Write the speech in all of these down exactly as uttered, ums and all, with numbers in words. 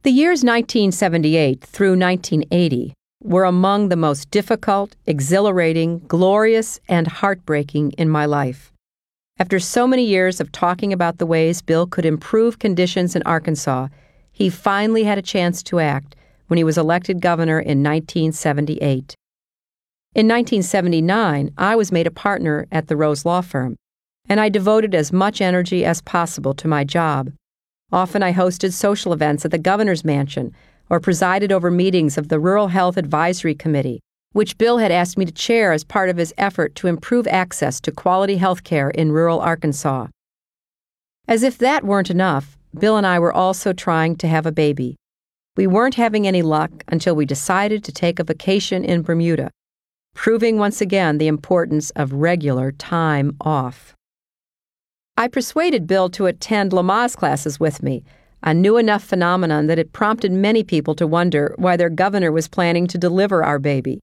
The years nineteen seventy-eight through nineteen eighty were among the most difficult, exhilarating, glorious, and heartbreaking in my life. After so many years of talking about the ways Bill could improve conditions in Arkansas, he finally had a chance to act when he was elected governor in nineteen seventy-eight. In nineteen seventy-nine, I was made a partner at the Rose Law Firm, and I devoted as much energy as possible to my job. Often I hosted social events at the governor's mansion or presided over meetings of the Rural Health Advisory Committee, which Bill had asked me to chair as part of his effort to improve access to quality health care in rural Arkansas. As if that weren't enough, Bill and I were also trying to have a baby. We weren't having any luck until we decided to take a vacation in Bermuda, proving once again the importance of regular time off. I persuaded Bill to attend Lamaze classes with me, a new enough phenomenon that it prompted many people to wonder why their governor was planning to deliver our baby.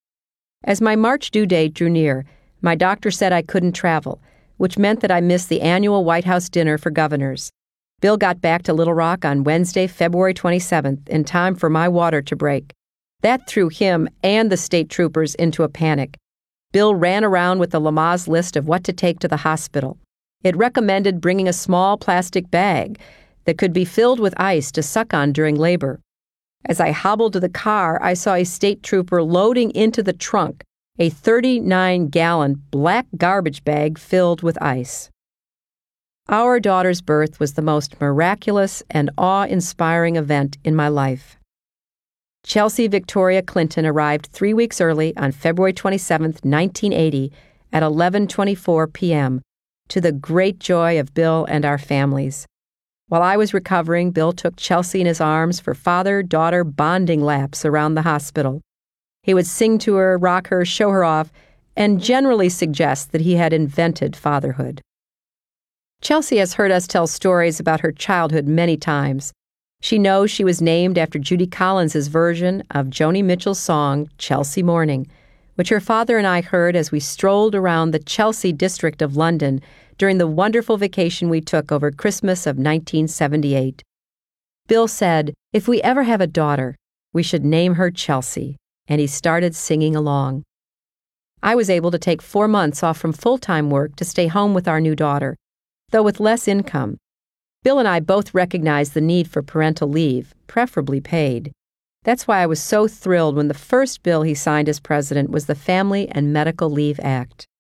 As my March due date drew near, my doctor said I couldn't travel, which meant that I missed the annual White House dinner for governors. Bill got back to Little Rock on Wednesday, February twenty-seventh, in time for my water to break. That threw him and the state troopers into a panic. Bill ran around with the Lamaze list of what to take to the hospital. It recommended bringing a small plastic bag that could be filled with ice to suck on during labor. As I hobbled to the car, I saw a state trooper loading into the trunk a thirty-nine gallon black garbage bag filled with ice. Our daughter's birth was the most miraculous and awe-inspiring event in my life. Chelsea Victoria Clinton arrived three weeks early on February twenty-seventh, nineteen eighty, at eleven twenty-four p.m., to the great joy of Bill and our families. While I was recovering, Bill took Chelsea in his arms for father-daughter bonding laps around the hospital. He would sing to her, rock her, show her off, and generally suggest that he had invented fatherhood. Chelsea has heard us tell stories about her childhood many times. She knows she was named after Judy Collins' version of Joni Mitchell's song, Chelsea Morning, which her father and I heard as we strolled around the Chelsea district of London during the wonderful vacation we took over Christmas of nineteen seventy-eight. Bill said, "If we ever have a daughter, we should name her Chelsea," and he started singing along. I was able to take four months off from full-time work to stay home with our new daughter, though with less income. Bill and I both recognized the need for parental leave, preferably paid. That's why I was so thrilled when the first bill he signed as president was the Family and Medical Leave Act.